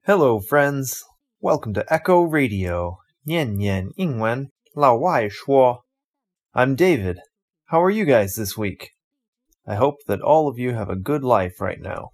Hello, friends. Welcome to Echo Radio. 念念英文，老外说. I'm David. How are you guys this week? I hope that all of you have a good life right now.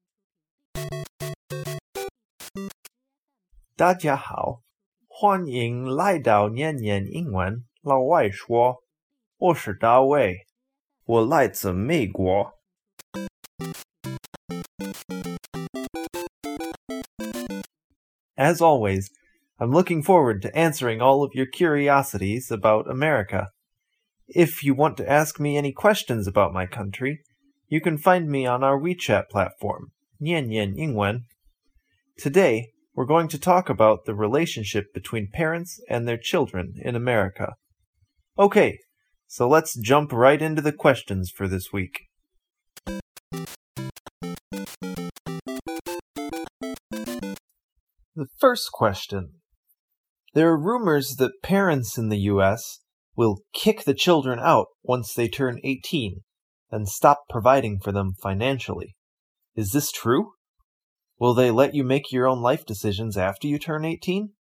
大家好，欢迎来到念念英文，老外说。我是大卫，我来自美国。As always, I'm looking forward to answering all of your curiosities about America. If you want to ask me any questions about my country, you can find me on our WeChat platform, 念念英文. Today, we're going to talk about the relationship between parents and their children in America. Okay, so let's jump right into the questions for this week. The first question. There are rumors that parents in the U.S. will kick the children out once they turn 18 and stop providing for them financially. Is this true? Will they let you make your own life decisions after you turn 18?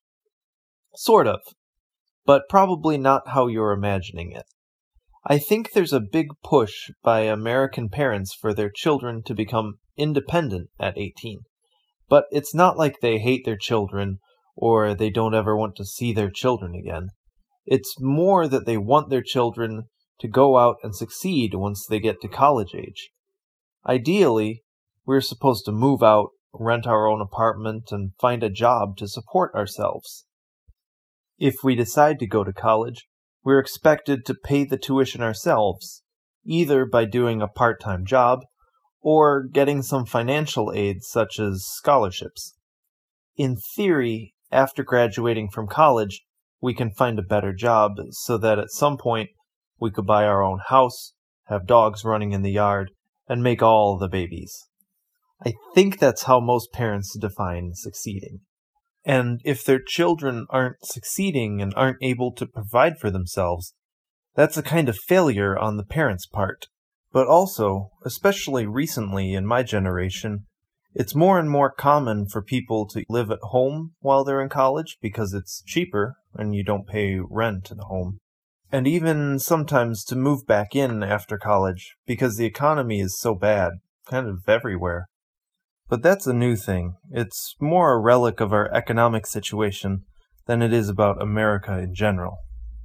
Sort of, but probably not how you're imagining it. I think there's a big push by American parents for their children to become independent at 18. But it's not like they hate their children or they don't ever want to see their children again. It's more that they want their children to go out and succeed once they get to college age. Ideally, we're supposed to move out, rent our own apartment, and find a job to support ourselves. If we decide to go to college, we're expected to pay the tuition ourselves, either by doing a part-time job or getting some financial aid such as scholarships. In theory, after graduating from college, we can find a better job so that at some point we could buy our own house, have dogs running in the yard, and make all the babies. I think that's how most parents define succeeding. And if their children aren't succeeding and aren't able to provide for themselves, that's a kind of failure on the parents' part. But also, especially recently in my generation, it's more and more common for people to live at home while they're in college because it's cheaper and you don't pay rent at home. And even sometimes to move back in after college because the economy is so bad, kind of everywhere. But that's a new thing. It's more a relic of our economic situation than it is about America in general.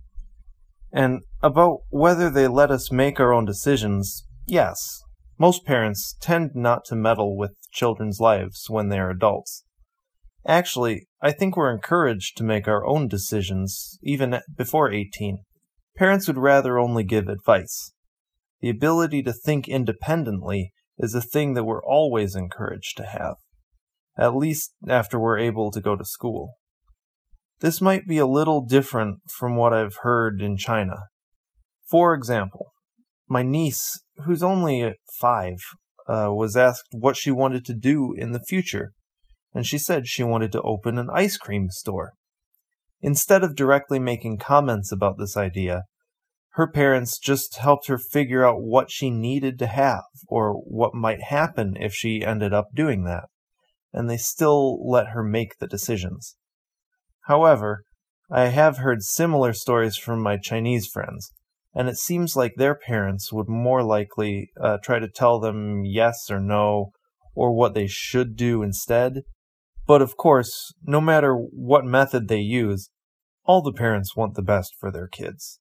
And about whether they let us make our own decisions, yes. Most parents tend not to meddle with children's lives when they are adults. Actually, I think we're encouraged to make our own decisions, even before 18. Parents would rather only give advice. The ability to think independently is a thing that we're always encouraged to have, at least after we're able to go to school. This might be a little different from what I've heard in China. For example, my niece, who's only 5, was asked what she wanted to do in the future, and she said she wanted to open an ice cream store. Instead of directly making comments about this idea, her parents just helped her figure out what she needed to have, or what might happen if she ended up doing that, and they still let her make the decisions. However, I have heard similar stories from my Chinese friends, and it seems like their parents would more likely try to tell them yes or no, or what they should do instead. But of course, no matter what method they use, all the parents want the best for their kids.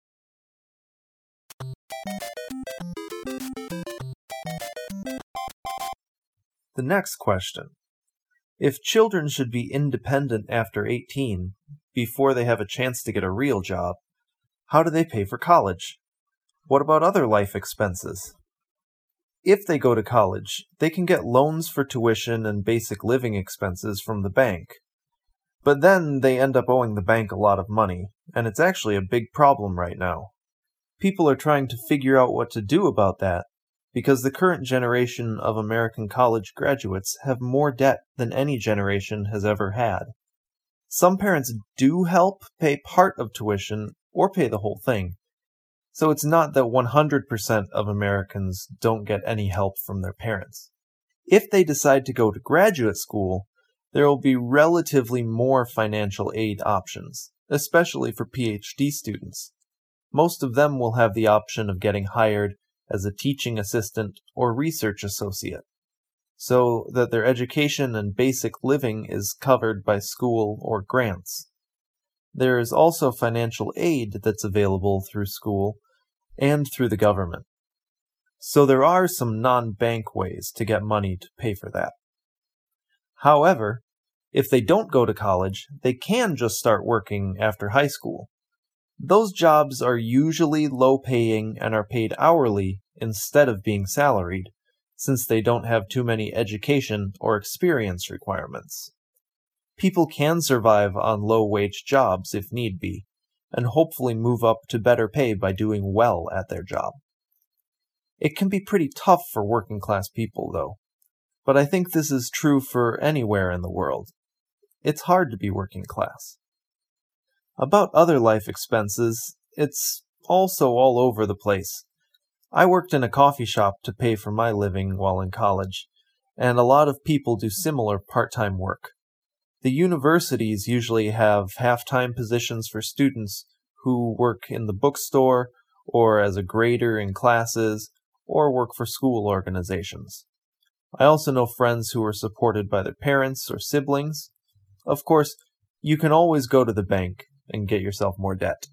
The next question. If children should be independent after 18, before they have a chance to get a real job, how do they pay for college? What about other life expenses? If they go to college, they can get loans for tuition and basic living expenses from the bank. But then they end up owing the bank a lot of money, and it's actually a big problem right now. People are trying to figure out what to do about that, because the current generation of American college graduates have more debt than any generation has ever had. Some parents do help pay part of tuition or pay the whole thing, so it's not that 100% of Americans don't get any help from their parents. If they decide to go to graduate school, there will be relatively more financial aid options, especially for PhD students. Most of them will have the option of getting hired as a teaching assistant or research associate, so that their education and basic living is covered by school or grants. There is also financial aid that's available through school and through the government. So there are some non-bank ways to get money to pay for that. However, if they don't go to college, they can just start working after high school. Those jobs are usually low-paying and are paid hourly instead of being salaried, since they don't have too many education or experience requirements. People can survive on low-wage jobs if need be, and hopefully move up to better pay by doing well at their job. It can be pretty tough for working-class people, though, but I think this is true for anywhere in the world. It's hard to be working class. About other life expenses, it's also all over the place. I worked in a coffee shop to pay for my living while in college, and a lot of people do similar part-time work. The universities usually have half-time positions for students who work in the bookstore, or as a grader in classes, or work for school organizations. I also know friends who are supported by their parents or siblings. Of course, you can always go to the bank and get yourself more debt.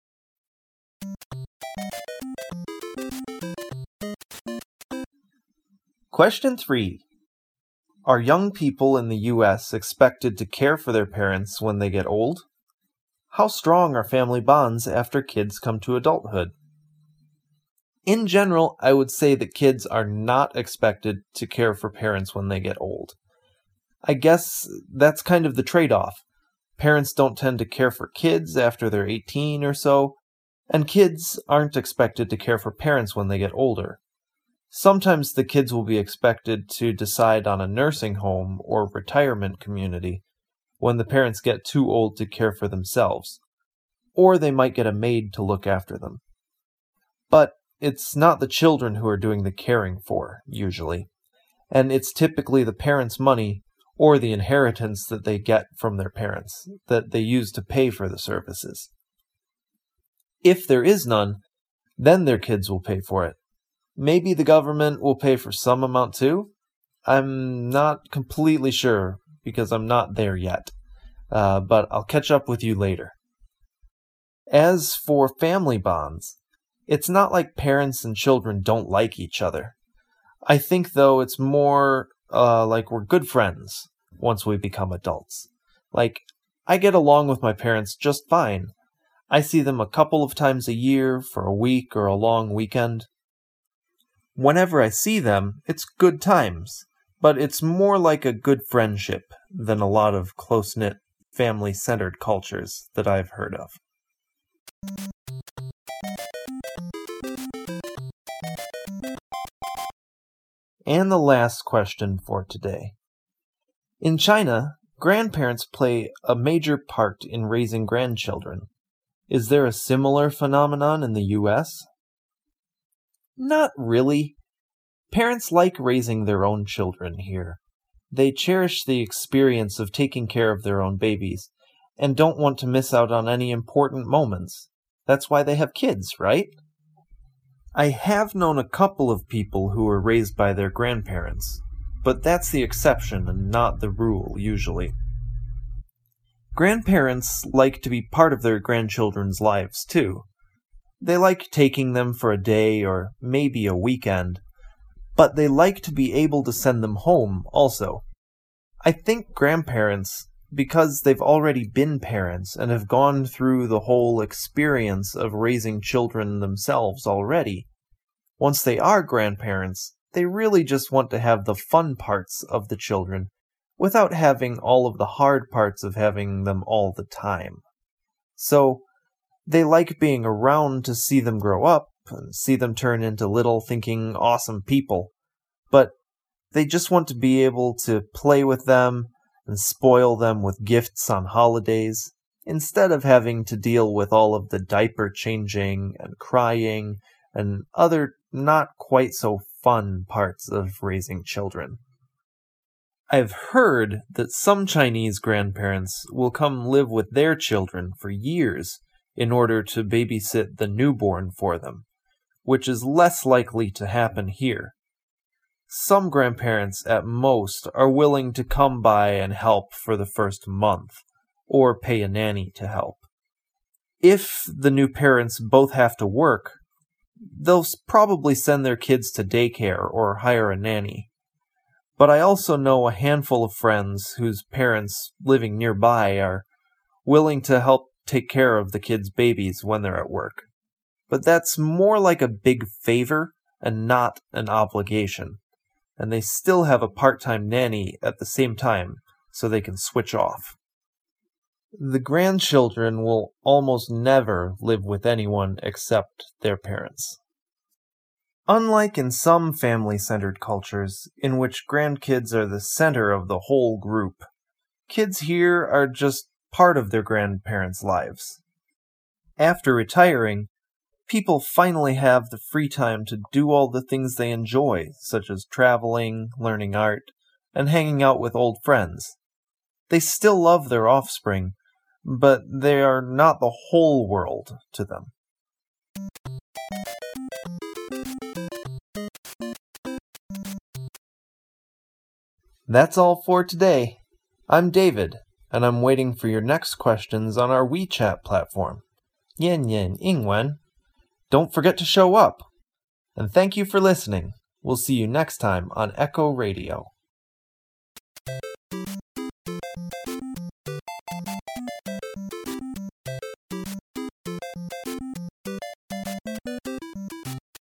Question 3. Are young people in the U.S. expected to care for their parents when they get old? How strong are family bonds after kids come to adulthood? In general, I would say that kids are not expected to care for parents when they get old. I guess that's kind of the trade-off. Parents don't tend to care for kids after they're 18 or so, and kids aren't expected to care for parents when they get older. Sometimes the kids will be expected to decide on a nursing home or retirement community when the parents get too old to care for themselves, or they might get a maid to look after them. But it's not the children who are doing the caring for, usually, and it's typically the parents' money or the inheritance that they get from their parents that they use to pay for the services. If there is none, then their kids will pay for it. Maybe the government will pay for some amount too? I'm not completely sure because I'm not there yet, but I'll catch up with you later. As for family bonds, it's not like parents and children don't like each other. I think, though, it's more like we're good friends once we become adults. Like, I get along with my parents just fine. I see them a couple of times a year for a week or a long weekend. Whenever I see them, it's good times, but it's more like a good friendship than a lot of close-knit, family-centered cultures that I've heard of. And the last question for today. In China, grandparents play a major part in raising grandchildren. Is there a similar phenomenon in the U.S.? Not really. Parents like raising their own children here. They cherish the experience of taking care of their own babies, and don't want to miss out on any important moments. That's why they have kids, right? I have known a couple of people who were raised by their grandparents, but that's the exception and not the rule, usually. Grandparents like to be part of their grandchildren's lives, too. They like taking them for a day or maybe a weekend, but they like to be able to send them home also. I think grandparents, because they've already been parents and have gone through the whole experience of raising children themselves already, once they are grandparents, they really just want to have the fun parts of the children without having all of the hard parts of having them all the time. So, they like being around to see them grow up and see them turn into little thinking awesome people, but they just want to be able to play with them and spoil them with gifts on holidays, instead of having to deal with all of the diaper changing and crying and other not quite so fun parts of raising children. I've heard that some Chinese grandparents will come live with their children for years in order to babysit the newborn for them, which is less likely to happen here. Some grandparents at most are willing to come by and help for the first month, or pay a nanny to help. If the new parents both have to work, they'll probably send their kids to daycare or hire a nanny. But I also know a handful of friends whose parents living nearby are willing to help take care of the kids' babies when they're at work. But that's more like a big favor and not an obligation. And they still have a part-time nanny at the same time so they can switch off. The grandchildren will almost never live with anyone except their parents. Unlike in some family-centered cultures, in which grandkids are the center of the whole group, kids here are just part of their grandparents' lives. After retiring, people finally have the free time to do all the things they enjoy, such as traveling, learning art, and hanging out with old friends. They still love their offspring, but they are not the whole world to them. That's all for today. I'm David, and I'm waiting for your next questions on our WeChat platform, Yan Yan Ingwen. Don't forget to show up. And thank you for listening. We'll see you next time on Echo Radio.